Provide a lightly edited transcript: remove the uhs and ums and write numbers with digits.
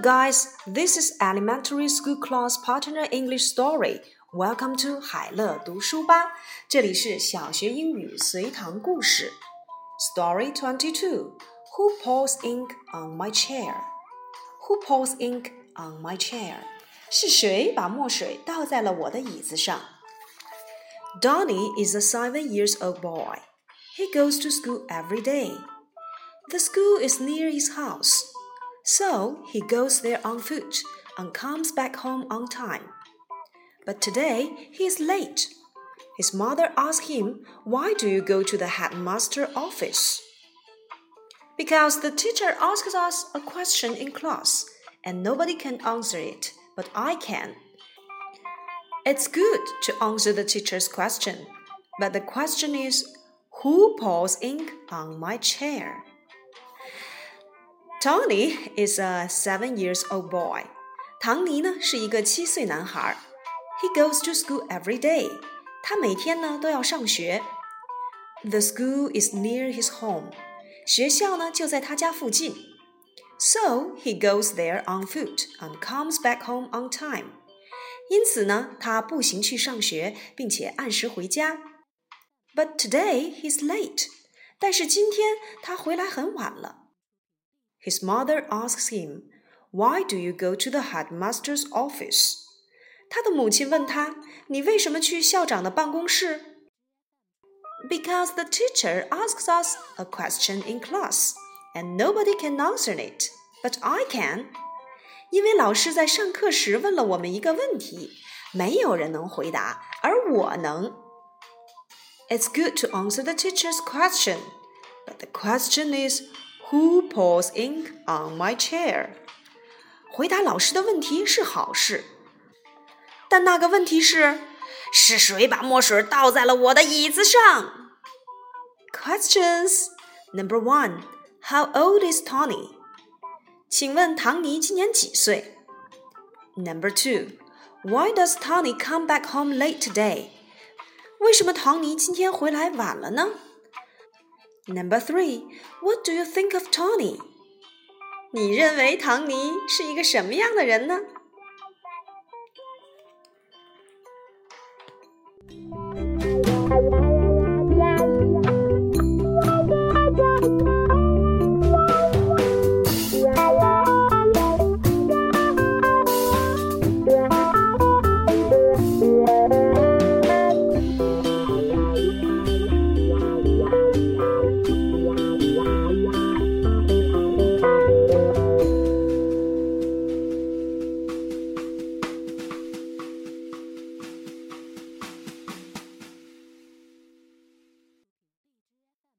guys, this is Elementary School Class Partner English Story. Welcome to 海乐读书吧，这里是小学英语随堂故事。Story 22 Who pours ink on my chair? Who pours ink on my chair? 是谁把墨水倒在了我的椅子上？ Donnie is a 7-year-old boy. He goes to school every day. The school is near his house, so he goes there on foot and comes back home on time. But today he is late. His mother asked him, "Why do you go to the headmaster's office?" "Because the teacher asks us a question in class, and nobody can answer it, but I can." It's good to answer the teacher's question, but the question is, who pours ink on my chair? Tony is a 7-year-old boy. 唐尼呢是一个7岁男孩。He goes to school every day. 他每天呢都要上学。The school is near his home. 学校呢就在他家附近。So he goes there on foot and comes back home on time. 因此呢，他步行去上学，并且按时回家。But today he's late. 但是今天他回来很晚了。His mother asks him, "Why do you go to the headmaster's office?" 他的母亲问他，你为什么去校长的办公室？ Because the teacher asks us a question in class, and nobody can answer it, but I can. 因为老师在上课时问了我们一个问题，没有人能回答，而我能。It's good to answer the teacher's question, but the question is, who pours ink on my chair? 回答老师的问题是好事，但那个问题是谁把墨水倒在了我的椅子上？ Questions Number 1 How old is Tony? 请问唐尼今年几岁？ Number 2 Why does Tony come back home late today? 为什么唐尼今天回来晚了呢？ Number 3 What do you think of Tony? 你认为唐尼是一个什么样的人呢？